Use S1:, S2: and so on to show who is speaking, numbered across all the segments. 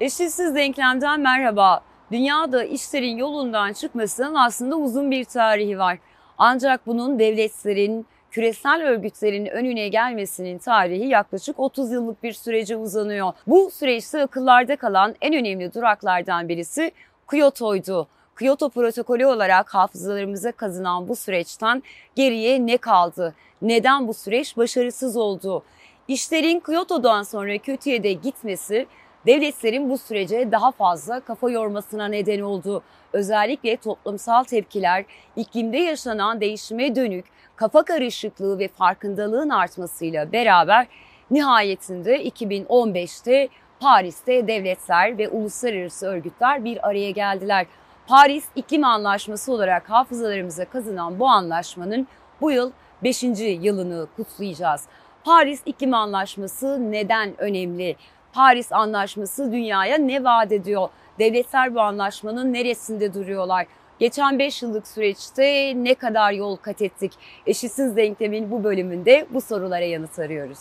S1: Eşitsiz denklemden merhaba. Dünyada işlerin yolundan çıkmasının aslında uzun bir tarihi var. Ancak bunun devletlerin, küresel örgütlerin önüne gelmesinin tarihi yaklaşık 30 yıllık bir sürece uzanıyor. Bu süreçte akıllarda kalan en önemli duraklardan birisi Kyoto'ydu. Kyoto protokolü olarak hafızalarımıza kazınan bu süreçten geriye ne kaldı? Neden bu süreç başarısız oldu? İşlerin Kyoto'dan sonra kötüye de gitmesi, devletlerin bu sürece daha fazla kafa yormasına neden oldu. Özellikle toplumsal tepkiler, iklimde yaşanan değişime dönük kafa karışıklığı ve farkındalığın artmasıyla beraber nihayetinde 2015'te Paris'te devletler ve uluslararası örgütler bir araya geldiler. Paris İklim Anlaşması olarak hafızalarımıza kazınan bu anlaşmanın bu yıl 5. yılını kutlayacağız. Paris İklim Anlaşması neden önemli? Paris Anlaşması dünyaya ne vaat ediyor? Devletler bu anlaşmanın neresinde duruyorlar? Geçen 5 yıllık süreçte ne kadar yol kat ettik? Eşitsiz denklemin bu bölümünde bu sorulara yanıt arıyoruz.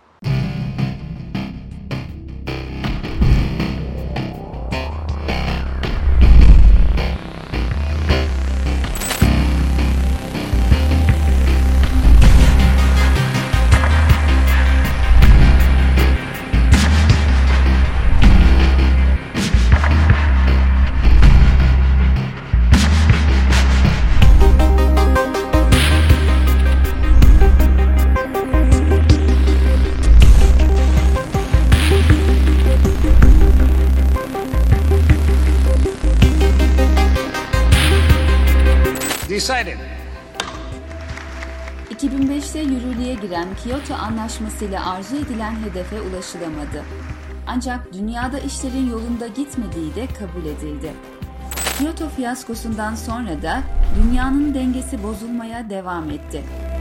S2: Decided.
S3: 2005'te yürürlüğe giren Kyoto Anlaşması ile arzu edilen hedefe ulaşılamadı. Ancak dünyada işlerin yolunda gitmediği de kabul edildi. Kyoto fiyaskosundan sonra da dünyanın dengesi bozulmaya devam etti.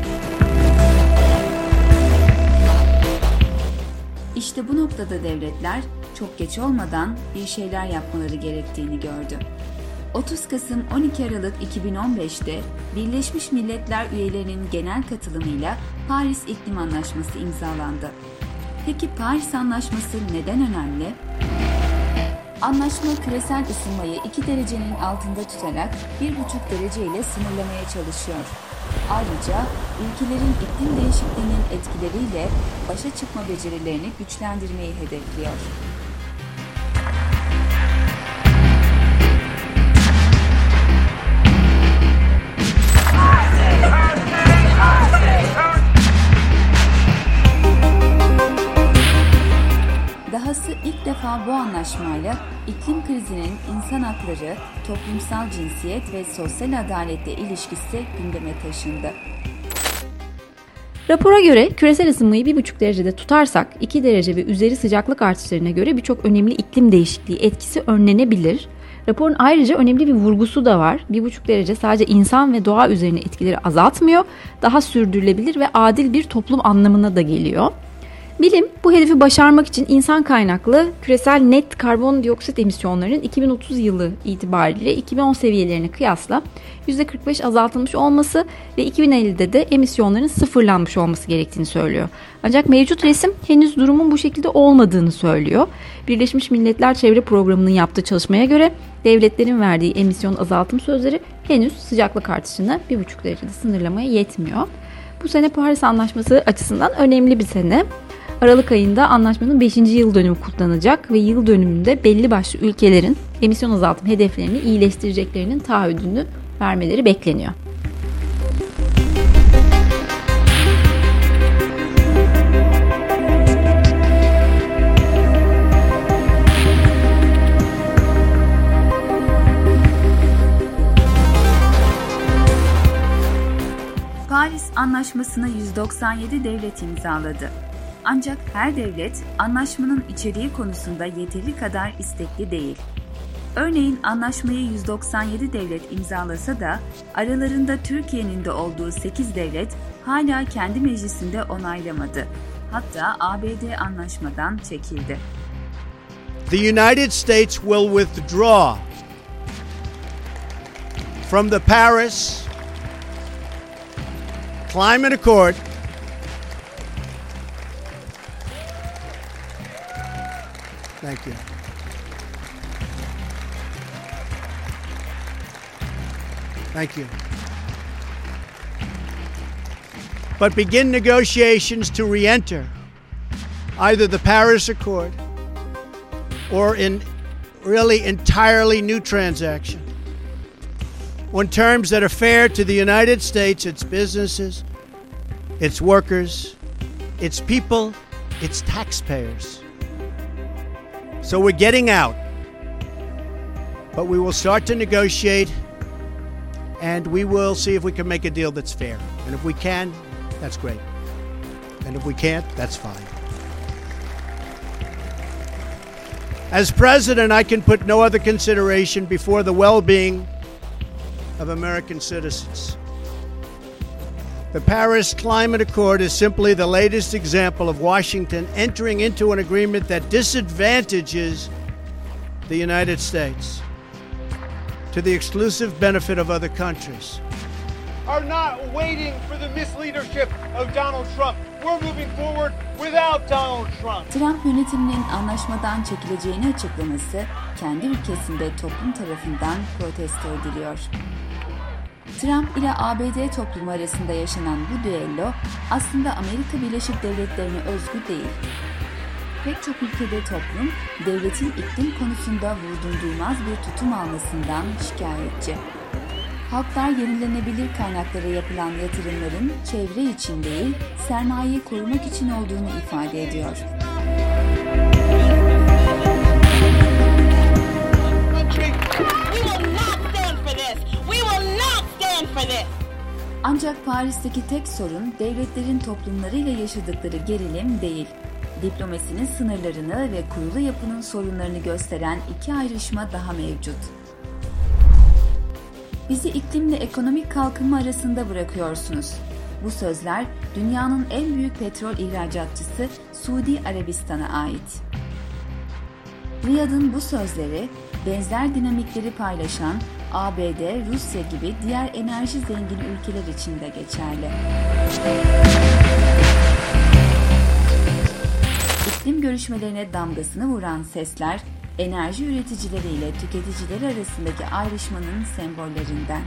S3: İşte bu noktada devletler çok geç olmadan bir şeyler yapmaları gerektiğini gördü. 30 Kasım 12 Aralık 2015'te Birleşmiş Milletler üyelerinin genel katılımıyla Paris İklim Anlaşması imzalandı. Peki Paris Anlaşması neden önemli? Anlaşma küresel ısınmayı 2 derecenin altında tutarak 1,5 derece ile sınırlamaya çalışıyor. Ayrıca ülkelerin iklim değişikliğinin etkileriyle başa çıkma becerilerini güçlendirmeyi hedefliyor. Dahası ilk defa bu anlaşmayla iklim krizinin insan hakları, toplumsal cinsiyet ve sosyal adaletle ilişkisi gündeme taşındı.
S4: Rapora göre küresel ısınmayı 1,5 derecede tutarsak 2 derece ve üzeri sıcaklık artışlarına göre birçok önemli iklim değişikliği etkisi önlenebilir. Raporun ayrıca önemli bir vurgusu da var. 1,5 derece sadece insan ve doğa üzerine etkileri azaltmıyor, daha sürdürülebilir ve adil bir toplum anlamına da geliyor. Bilim bu hedefi başarmak için insan kaynaklı küresel net karbondioksit emisyonlarının 2030 yılı itibariyle 2010 seviyelerine kıyasla %45 azaltılmış olması ve 2050'de de emisyonların sıfırlanmış olması gerektiğini söylüyor. Ancak mevcut resim henüz durumun bu şekilde olmadığını söylüyor. Birleşmiş Milletler Çevre Programı'nın yaptığı çalışmaya göre devletlerin verdiği emisyon azaltım sözleri henüz sıcaklık artışını 1,5 derecede sınırlamaya yetmiyor. Bu sene Paris Anlaşması açısından önemli bir sene. Aralık ayında anlaşmanın 5. yıl dönümü kutlanacak ve yıl dönümünde belli başlı ülkelerin emisyon azaltım hedeflerini iyileştireceklerinin taahhüdünü vermeleri bekleniyor.
S3: Paris Anlaşması'na 197 devlet imzaladı. Ancak her devlet anlaşmanın içeriği konusunda yeteri kadar istekli değil. Örneğin anlaşmayı 197 devlet imzalasa da aralarında Türkiye'nin de olduğu 8 devlet hala kendi meclisinde onaylamadı. Hatta ABD anlaşmadan çekildi.
S5: The United States will withdraw from the Paris Climate Accord Thank you. Thank you. But begin negotiations to re-enter either the Paris Accord or in really entirely new transaction on terms that are fair to the United States, its businesses, its workers, its people, its taxpayers. So we're getting out, but we will start to negotiate, and we will see if we can make a deal that's fair. And if we can, that's great. And if we can't, that's fine. As president, I can put no other consideration before the well-being of American citizens. The Paris Climate Accord is simply the latest example of Washington entering into an agreement that disadvantages the United States to the exclusive benefit of other countries.
S2: Are not waiting for the misleadership of Donald Trump. We're moving forward without Donald Trump.
S3: Trump yönetiminin anlaşmadan çekileceğini açıklaması kendi ülkesinde toplum tarafından protesto ediliyor. Trump ile ABD toplumu arasında yaşanan bu düello aslında Amerika Birleşik Devletleri'ne özgü değil. Pek çok ülkede toplum, devletin iklim konusunda vurdumduymaz bir tutum almasından şikayetçi. Halklar yenilenebilir kaynaklara yapılan yatırımların çevre için değil, sermayeyi korumak için olduğunu ifade ediyor. Ancak Paris'teki tek sorun devletlerin toplumlarıyla yaşadıkları gerilim değil. Diplomasinin sınırlarını ve kurulu yapının sorunlarını gösteren iki ayrışma daha mevcut. Bizi iklimle ekonomik kalkınma arasında bırakıyorsunuz. Bu sözler dünyanın en büyük petrol ihracatçısı Suudi Arabistan'a ait. Riyad'ın bu sözleri benzer dinamikleri paylaşan ABD, Rusya gibi diğer enerji zengin ülkeler için de geçerli. İklim görüşmelerine damgasını vuran sesler, enerji üreticileri ile tüketicileri arasındaki ayrışmanın sembollerinden.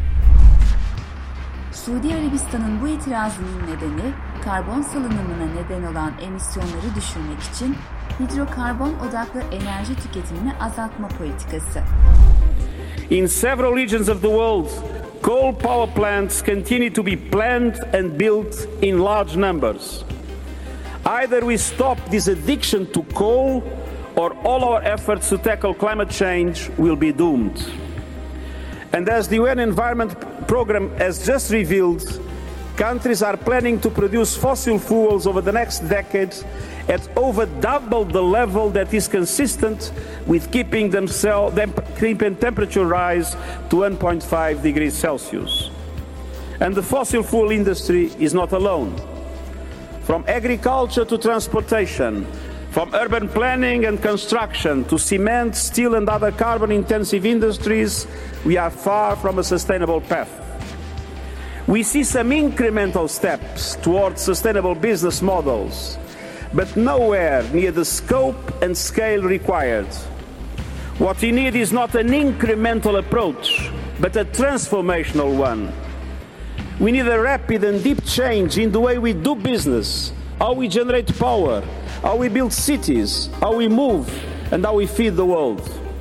S3: Suudi Arabistan'ın bu itirazının nedeni, karbon salınımına neden olan emisyonları düşürmek için hidrokarbon odaklı enerji tüketimini azaltma politikası.
S6: In several regions of the world, coal power plants continue to be planned and built in large numbers. Either we stop this addiction to coal, or all our efforts to tackle climate change will be doomed. And as the UN Environment Programme has just revealed, countries are planning to produce fossil fuels over the next decade at over double the level that is consistent with keeping temperature rise to 1.5 degrees Celsius. And the fossil fuel industry is not alone. From agriculture to transportation, from urban planning and construction to cement, steel and other carbon-intensive industries, we are far from a sustainable path. We see some incremental steps towards sustainable business models, but nowhere near the scope and scale required. What we need is not an incremental approach, but a transformational one. We need a rapid and deep change in the way we do business, how we generate power, how we build cities, how we move, and how we feed the world.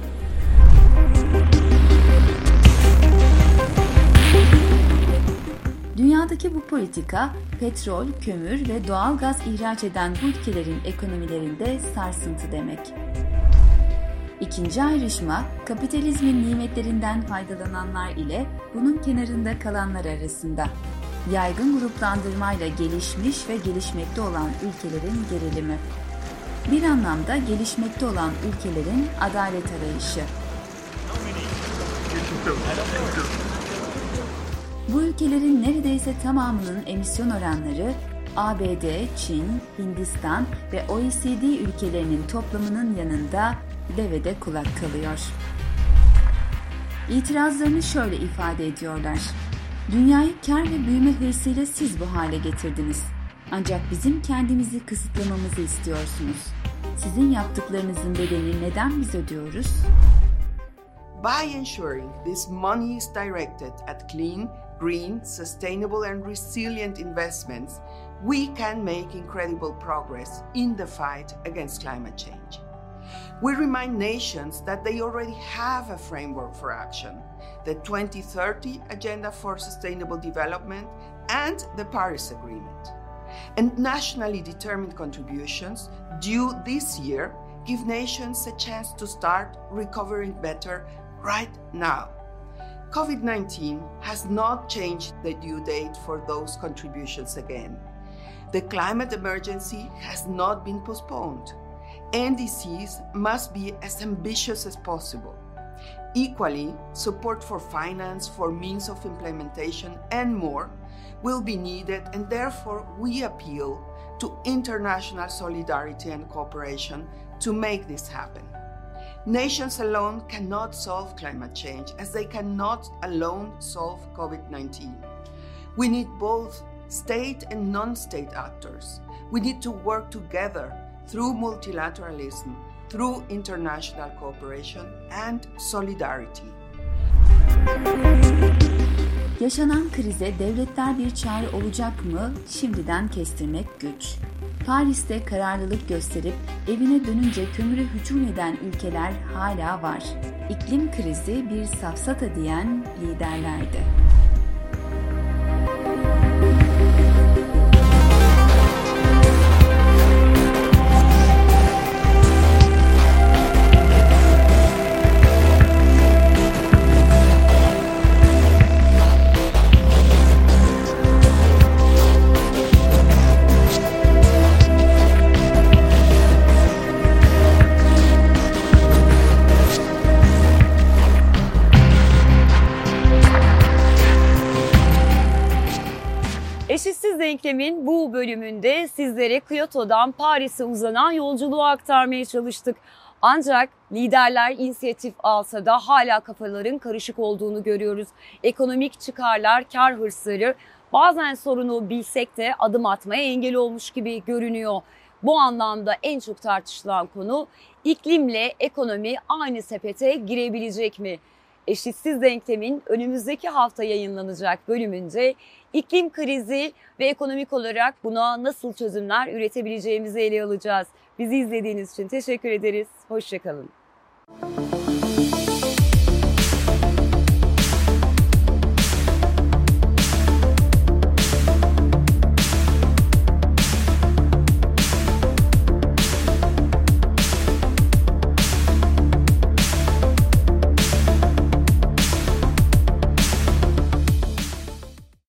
S3: Dünyadaki bu politika, petrol, kömür ve doğal gaz ihraç eden bu ülkelerin ekonomilerinde sarsıntı demek. İkinci ayrışma, kapitalizmin nimetlerinden faydalananlar ile bunun kenarında kalanlar arasında. Yaygın gruplandırmayla gelişmiş ve gelişmekte olan ülkelerin gerilimi. Bir anlamda gelişmekte olan ülkelerin adalet arayışı. Bu ülkelerin neredeyse tamamının emisyon oranları ABD, Çin, Hindistan ve OECD ülkelerinin toplamının yanında devede kulak kalıyor. İtirazlarını şöyle ifade ediyorlar. Dünyayı kar ve büyüme hırsıyla siz bu hale getirdiniz. Ancak bizim kendimizi kısıtlamamızı istiyorsunuz. Sizin yaptıklarınızın bedelini neden biz ödüyoruz?
S7: By ensuring this money is directed at clean, green, sustainable and resilient investments, we can make incredible progress in the fight against climate change. We remind nations that they already have a framework for action, the 2030 Agenda for Sustainable Development and the Paris Agreement. And nationally determined contributions due this year give nations a chance to start recovering better right now. COVID-19 has not changed the due date for those contributions again. The climate emergency has not been postponed. NDCs must be as ambitious as possible. Equally, support for finance, for means of implementation, and more will be needed, and therefore we appeal to international solidarity and cooperation to make this happen. Nations alone cannot solve climate change, as they cannot alone solve COVID-19. We need both state and non-state actors. We need to work together through multilateralism, through international cooperation and solidarity.
S3: Yaşanan krize devletler bir çare olacak mı şimdiden kestirmek güç. Paris'te kararlılık gösterip evine dönünce kömüre hücum eden ülkeler hala var. İklim krizi bir safsata diyen liderlerdi.
S1: Eşitsiz Denklem'in bu bölümünde sizlere Kyoto'dan Paris'e uzanan yolculuğu aktarmaya çalıştık. Ancak liderler inisiyatif alsa da hala kafaların karışık olduğunu görüyoruz. Ekonomik çıkarlar, kar hırsları bazen sorunu bilsek de adım atmaya engel olmuş gibi görünüyor. Bu anlamda en çok tartışılan konu iklimle ekonomi aynı sepete girebilecek mi? Eşitsiz Denklem'in önümüzdeki hafta yayınlanacak bölümünde iklim krizi ve ekonomik olarak buna nasıl çözümler üretebileceğimizi ele alacağız. Bizi izlediğiniz için teşekkür ederiz. Hoşça kalın.